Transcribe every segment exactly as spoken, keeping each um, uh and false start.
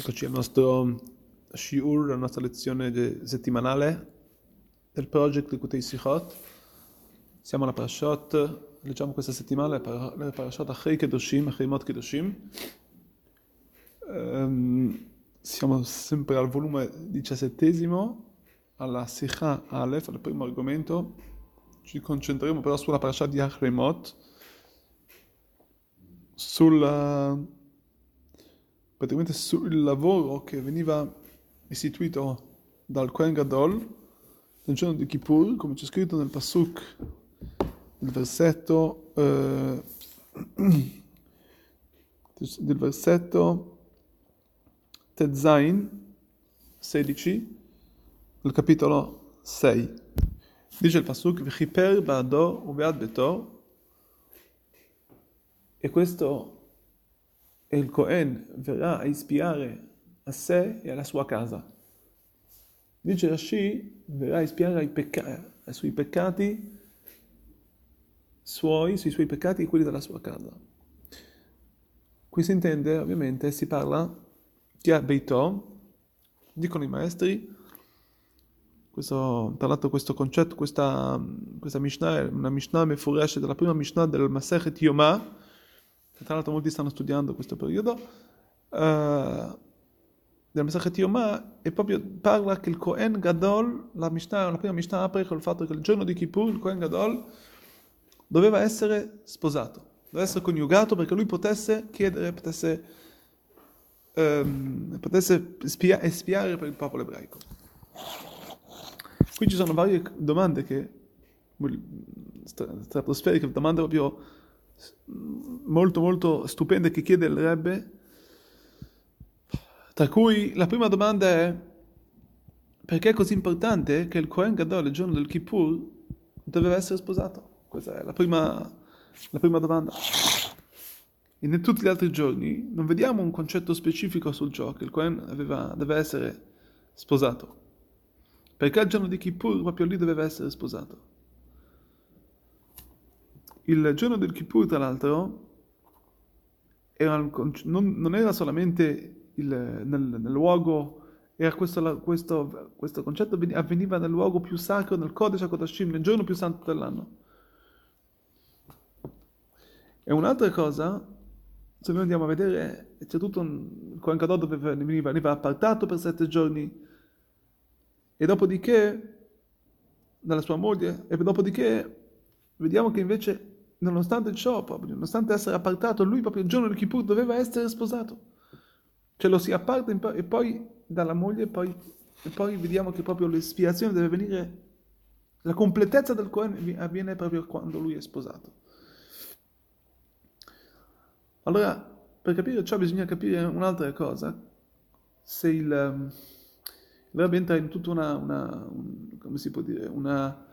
Eccoci al nostro shiur, la nostra lezione de- settimanale del project Likutei Sichot. Siamo alla Parashot, leggiamo questa settimana la Parashot Achei Kedoshim, Achei Mot Kedoshim. Ehm, siamo sempre al volume diciassettesimo, alla Sicha Aleph, al primo argomento. Ci concentreremo però sulla Parashat di Achei Mot, sul praticamente sul lavoro che veniva istituito dal Kohen Gadol nel giorno di Kippur, come c'è scritto nel Pasuk, il versetto eh, del versetto Tezain sedici del capitolo sei. Dice il Pasuk V'chiper ba'ado u'be'ad beto, e questo e il Cohen verrà a espiare a sé e alla sua casa. Dice Rashi, verrà a espiare ai, pecca- ai suoi peccati suoi, sui suoi peccati e quelli della sua casa. Qui si intende, ovviamente, si parla di Beito, dicono i maestri, questo, tra l'altro questo concetto, questa, questa Mishnah è una Mishnah mefuresh della prima Mishnah del Masechet Yomah. Tra l'altro molti stanno studiando questo periodo uh, del Masechet Yomah, e proprio parla che il Kohen Gadol, la, Mishnah, la prima Mishnah apre col fatto che il giorno di Kippur il Kohen Gadol doveva essere sposato, doveva essere coniugato perché lui potesse chiedere, potesse, um, potesse spia- espiare per il popolo ebraico. Qui ci sono varie domande che stratosferiche, domande proprio molto molto stupende che chiede il Rebbe, tra cui la prima domanda è: perché è così importante che il Kohen Gadol il giorno del Kippur doveva essere sposato? Questa è la prima, la prima domanda. E in tutti gli altri giorni non vediamo un concetto specifico sul ciò che il Kohen aveva, deve essere sposato. Perché il giorno di Kippur proprio lì doveva essere sposato? Il giorno del Kippur, tra l'altro, era un, non, non era solamente il, nel, nel luogo, era questo, questo, questo concetto avveniva nel luogo più sacro, nel Kodesh HaKodashim, nel giorno più santo dell'anno. E un'altra cosa, se noi andiamo a vedere, c'è tutto un, il Kohen Gadol dove veniva, veniva appartato per sette giorni, e dopodiché, dalla sua moglie, e dopodiché vediamo che invece, nonostante ciò, proprio, nonostante essere appartato, lui proprio il giorno del Kippur doveva essere sposato. Cioè lo si apparta e poi dalla moglie, e poi, e poi vediamo che proprio l'espiazione deve venire, la completezza del Kohen avviene proprio quando lui è sposato. Allora, per capire ciò bisogna capire un'altra cosa. Se il, il Rebbe entra in tutta una, una un, come si può dire, una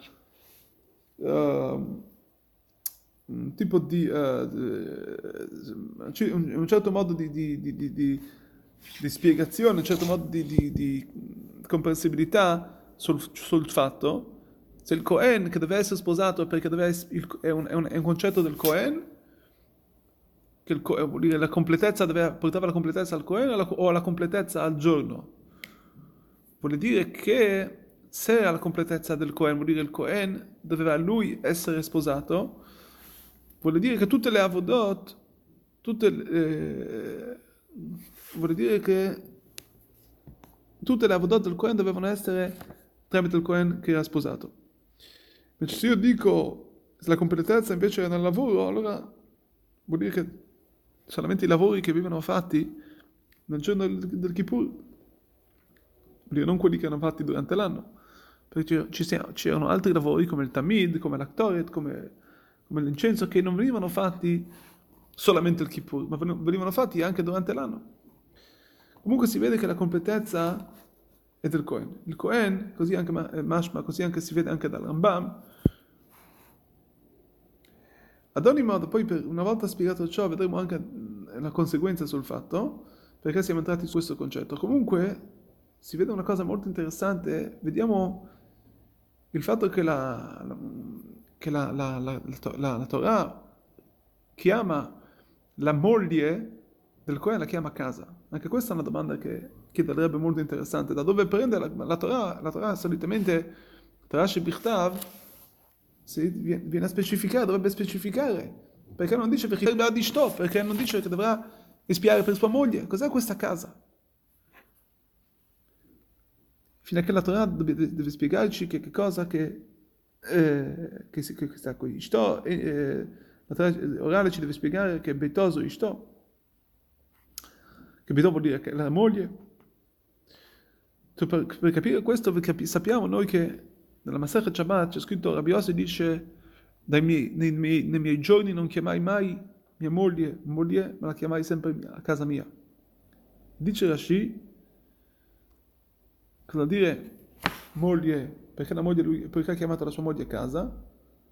uh, un tipo di uh, un, un certo modo di, di, di, di, di, di spiegazione, un certo modo di, di, di comprensibilità sul, sul fatto se il Cohen che deve essere sposato perché deve essere, il, è, un, è, un, è un concetto del Cohen, che il, vuol dire la completezza deve, portava la completezza al Cohen o alla, o alla completezza al giorno. Vuol dire che se era la completezza del Cohen, vuol dire che il Cohen doveva lui essere sposato, vuol dire che tutte le avodot, tutte eh, vuol dire che tutte le avodot del Cohen dovevano essere tramite il Cohen che era sposato. Invece se io dico se la completezza invece è nel lavoro, allora vuol dire che solamente i lavori che venivano fatti nel giorno del, del Kippur, vuol dire non quelli che erano fatti durante l'anno, perché ci siano, c'erano altri lavori come il Tamid, come l'Aktoret, come, come l'incenso, che non venivano fatti solamente il Kippur, ma venivano fatti anche durante l'anno. Comunque si vede che la completezza è del Cohen. Il Cohen, così anche Mashma, così anche si vede anche dal Rambam. Ad ogni modo, poi per una volta spiegato ciò, vedremo anche la conseguenza sul fatto, perché siamo entrati su questo concetto. Comunque si vede una cosa molto interessante, vediamo il fatto che la, la, che la, la, la, la, la Torah chiama la moglie del Cohen, la chiama casa. Anche questa è una domanda che, che sarebbe molto interessante. Da dove prende la, la Torah? La Torah solitamente, Torah Shebichtav, si viene viene a specificare, dovrebbe specificare. Perché non dice perché dovrà di Shto, perché non dice che dovrà espiare per sua moglie. Cos'è questa casa? Fino a che la Torah deve, deve spiegarci che, che cosa che, eh, che, si- che sta qui. Ishto, eh, eh, la Torah orale ci deve spiegare che Beitoso Ishto, che Beito vuol dire che la moglie. Tu, Per, per capire questo per capi- sappiamo noi che nella Masechet Shabbat c'è scritto, Rabbi Yossi dice, dai miei, nei, miei, nei miei giorni non chiamai mai mia moglie moglie, ma la chiamai sempre mia, a casa mia. Dice Rashi, cosa vuol dire moglie, perché la moglie lui, perché ha chiamato la sua moglie a casa?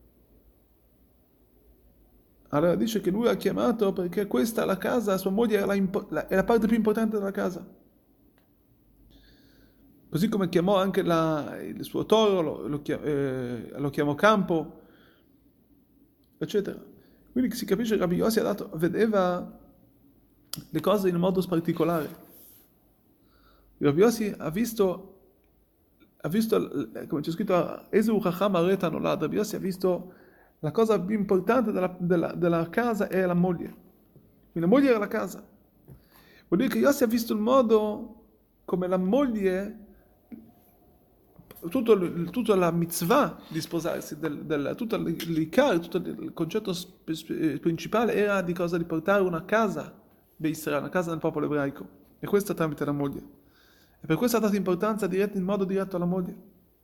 Allora dice che lui ha chiamato perché questa, la casa, sua moglie è la, impo- la- è la parte più importante della casa. Così come chiamò anche la- il suo toro, lo, lo chia- eh, lo chiamò campo, eccetera. Quindi si capisce che Rabbi Yossi ha dato, vedeva le cose in un modo particolare. Rabbi Yossi ha visto, ha visto, come c'è scritto, Ezu Chacham Areta Nolad, Rabbi Yossi ha visto la cosa più importante della, della- della casa è la moglie. Quindi la moglie era la casa. Vuol dire che Yossi ha visto il modo come la moglie, tutto, il- tutta la mitzvah di sposarsi, del, del, tutto l'ikar, tutto il concetto sp- sp- principale era di cosa? Di portare una casa di Israele, una casa del popolo ebraico. E questo tramite la moglie. E per questo ha dato importanza diretta, in modo diretto alla moglie.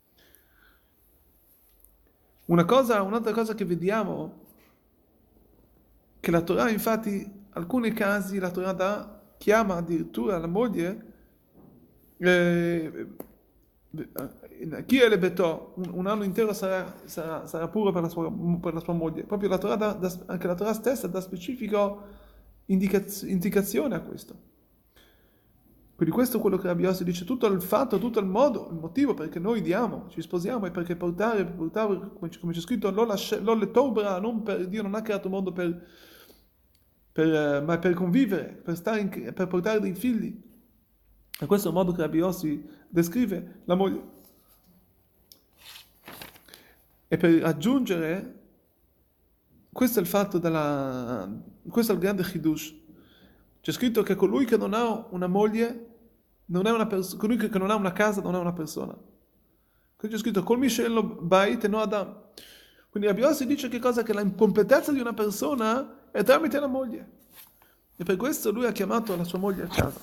Una cosa, un'altra cosa che vediamo, che la Torah, infatti, in alcuni casi la Torah dà, chiama addirittura la moglie, eh, chi è le betò, un, un anno intero sarà, sarà, sarà puro per la, sua, per la sua moglie. Proprio la Torah dà, dà- anche la Torah stessa dà specifico indicaz- indicazione a questo. Quindi questo è quello che Rabbi Yossi dice, tutto il fatto, tutto il modo, il motivo perché noi diamo, ci sposiamo è perché portare, portare come c'è come c'è scritto, l'olle tobra, non per, Dio non ha creato il mondo per, per, eh, ma per convivere, per, stare in- per portare dei figli. E questo è il modo che Rabbi Yossi descrive la moglie. E per aggiungere, questo è il fatto della, questo è il grande chidush. C'è scritto che colui che non ha una moglie, non è una persona, colui che non ha una casa non è una persona. Qui c'è scritto, col Mishello Bait e no Adam. Quindi Rabbi Yossi dice che cosa? Che la incompletezza di una persona è tramite la moglie. E per questo lui ha chiamato la sua moglie a casa.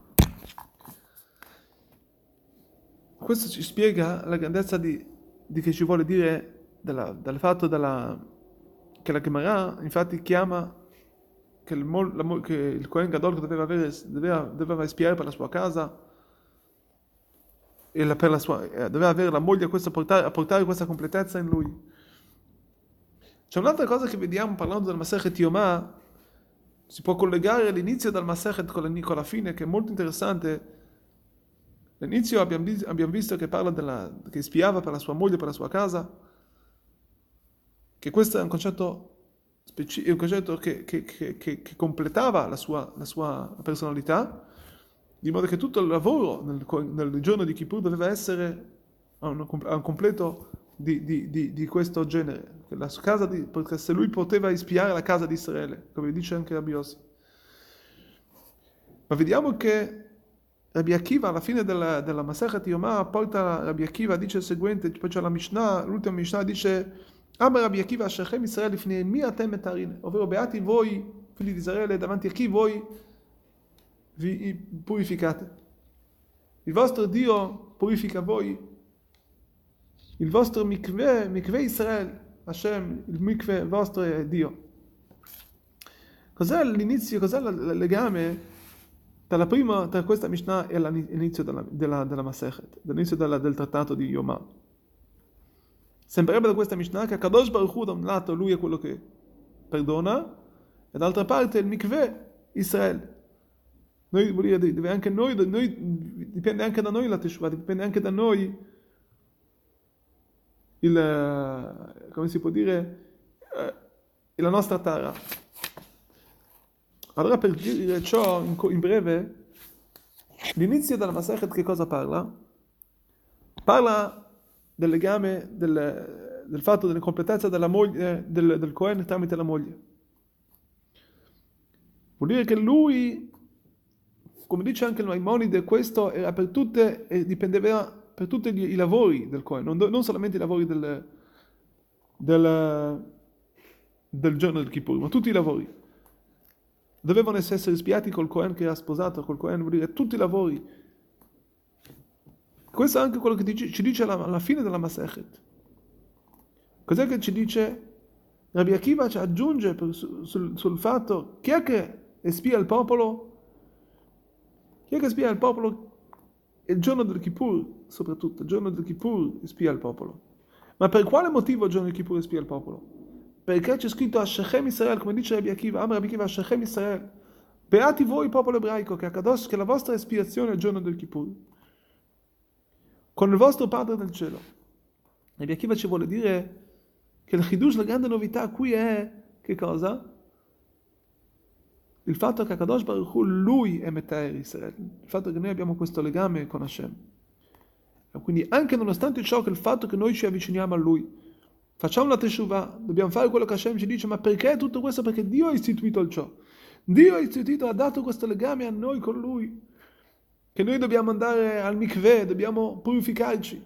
Questo ci spiega la grandezza di, di che ci vuole dire della- del fatto della, che la Gemara infatti chiama che il, mol- la mo- che il Kohen Gadol che doveva, avere, doveva, doveva espiare per la sua casa e la- per la sua, eh, doveva avere la moglie a, questo, portare, a portare questa completezza in lui. C'è un'altra cosa che vediamo parlando del Masechet Yomah, si può collegare l'inizio del Masechet con la, con la fine, che è molto interessante. All'inizio abbiamo, vis- abbiamo visto che parla della, che spiava per la sua moglie, per la sua casa, che questo è un concetto, speci- è un concetto che, che- che- che- che completava la sua, la sua personalità, di modo che tutto il lavoro nel, nel giorno di Kippur doveva essere a un, a un completo di, di- di- di questo genere. Che la casa di, perché se lui poteva espiare la casa di Israele, come dice anche Rabbi Yossi. Ma vediamo che Rabbi Akiva alla fine della, della Masechet Yomah porta Rabbi Akiva, dice il seguente, poi c'è la Mishnah, l'ultima Mishnah dice Amar Rabbi Akiva, Shechem Israele lifnei mi atem metarin, ovvero beati voi, figli di Israele, davanti a chi voi vi purificate. Il vostro Dio purifica voi, il vostro mikveh, mikveh Israele, Hashem, il mikveh vostro è Dio. Cos'è l'inizio, cos'è il legame tra la prima, tra questa Mishnah e l'inizio della, della, della Masechet, dall'inizio della, del trattato di Yomah? Sembrerebbe da questa Mishnah che Kadosh Baruch Hu da un lato lui è quello che perdona e dall'altra parte il mikveh Israele. Noi, vuol dire, deve anche noi, noi, dipende anche da noi la Teshuvah, dipende anche da noi il, come si può dire, eh, la nostra Tara. Allora per dire ciò in, in breve, L'inizio della Masechet che cosa parla? Parla del legame, del, del fatto dell'incompletezza della moglie, del, del Cohen tramite la moglie. Vuol dire che lui, come dice anche il Maimonide, questo era per tutte, e dipendeva per tutti i, i lavori del Cohen, non, non solamente i lavori del, del, del giorno del Kippur, ma tutti i lavori. Dovevano essere spiati col Cohen che era sposato, col Cohen vuol dire tutti i lavori. Questo è anche quello che dice, ci dice alla, alla fine della Masechet. Cos'è che ci dice? Rabbi Akiva ci aggiunge per, sul, sul fatto chi è che espia il popolo? Chi è che espia il popolo? Il giorno del Kippur, soprattutto, il giorno del Kippur espia il popolo. Ma per quale motivo il giorno del Kippur espia il popolo? Perché c'è scritto a Shechem Israel, come dice Rabbi Akiva, Am Rabbi Akiva a Shechem Israel, beati voi popolo ebraico, che, Akadosh, che la vostra espiazione è il giorno del Kippur, con il vostro Padre del cielo. Rabbi Akiva ci vuole dire che il Chidush, la grande novità qui è, che cosa? Il fatto che Akadosh Baruch Hu, lui è Metaer Israel, il fatto che noi abbiamo questo legame con Hashem. E quindi anche nonostante ciò, che il fatto che noi ci avviciniamo a lui, facciamo la teshuvah, dobbiamo fare quello che Hashem ci dice, ma perché tutto questo? Perché Dio ha istituito il ciò. Dio ha istituito, ha dato questo legame a noi con Lui, che noi dobbiamo andare al mikveh, dobbiamo purificarci,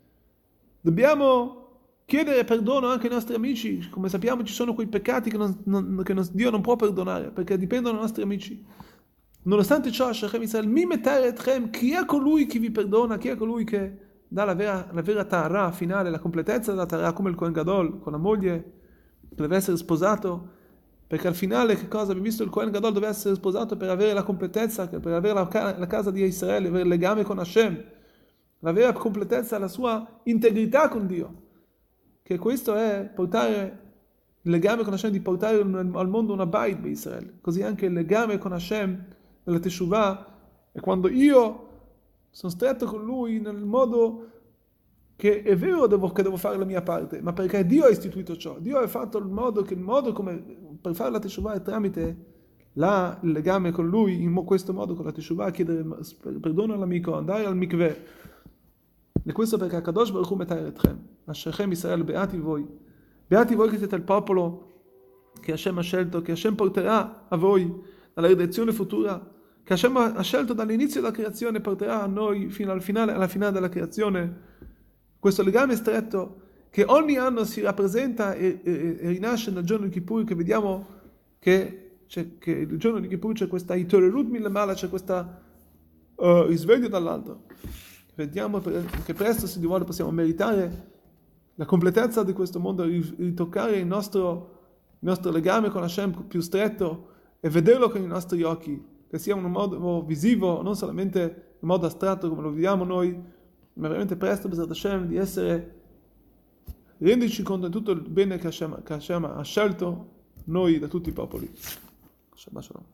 dobbiamo chiedere perdono anche ai nostri amici. Come sappiamo ci sono quei peccati che, non, non, che non, Dio non può perdonare, perché dipendono dai nostri amici. Nonostante ciò, Shechem Israel, mi metere etchem, chi è colui che vi perdona, chi è colui che dà la vera, la vera Tahara finale, la completezza della Tahara, come il Kohen Gadol, con la moglie, che deve essere sposato, perché al finale, che cosa? Abbiamo visto il Kohen Gadol deve essere sposato per avere la completezza, per avere la, la casa di Israele, avere il legame con Hashem, la vera completezza, la sua integrità con Dio, che questo è portare il legame con Hashem, di portare al mondo una bait per Israele. Così anche il legame con Hashem nella Teshuvah è quando io sono stretto con lui nel modo che è vero devo, che devo fare la mia parte, ma perché Dio ha istituito ciò. Dio ha fatto il modo che il modo come per fare la Teshuvah è tramite la, il legame con lui, in questo modo con la Teshuvah, chiedere perdono all'amico, andare al mikveh. E questo perché Akadosh Baruch Hu Metaer etchem, Shechem Israel, beati voi, beati voi che siete il popolo che Hashem ha scelto, che Hashem porterà a voi alla redenzione futura, che Hashem ha scelto dall'inizio della creazione, porterà a noi fino al finale, alla finale della creazione, questo legame stretto che ogni anno si rappresenta e, e, e rinasce nel giorno di Kippur, che vediamo che, c'è, che il giorno di Kippur c'è questa Itorerut Milamala, c'è questo uh, risveglio dall'alto. Vediamo che presto, se Dio vuole, possiamo meritare la completezza di questo mondo, ritoccare il nostro, il nostro legame con Hashem più stretto e vederlo con i nostri occhi, che sia in un modo visivo, non solamente in modo astratto come lo vediamo noi, ma veramente presto, B'ezrat Hashem, di essere, renderci conto di tutto il bene che Hashem, che Hashem ha scelto noi da tutti i popoli. Shabbat Shalom.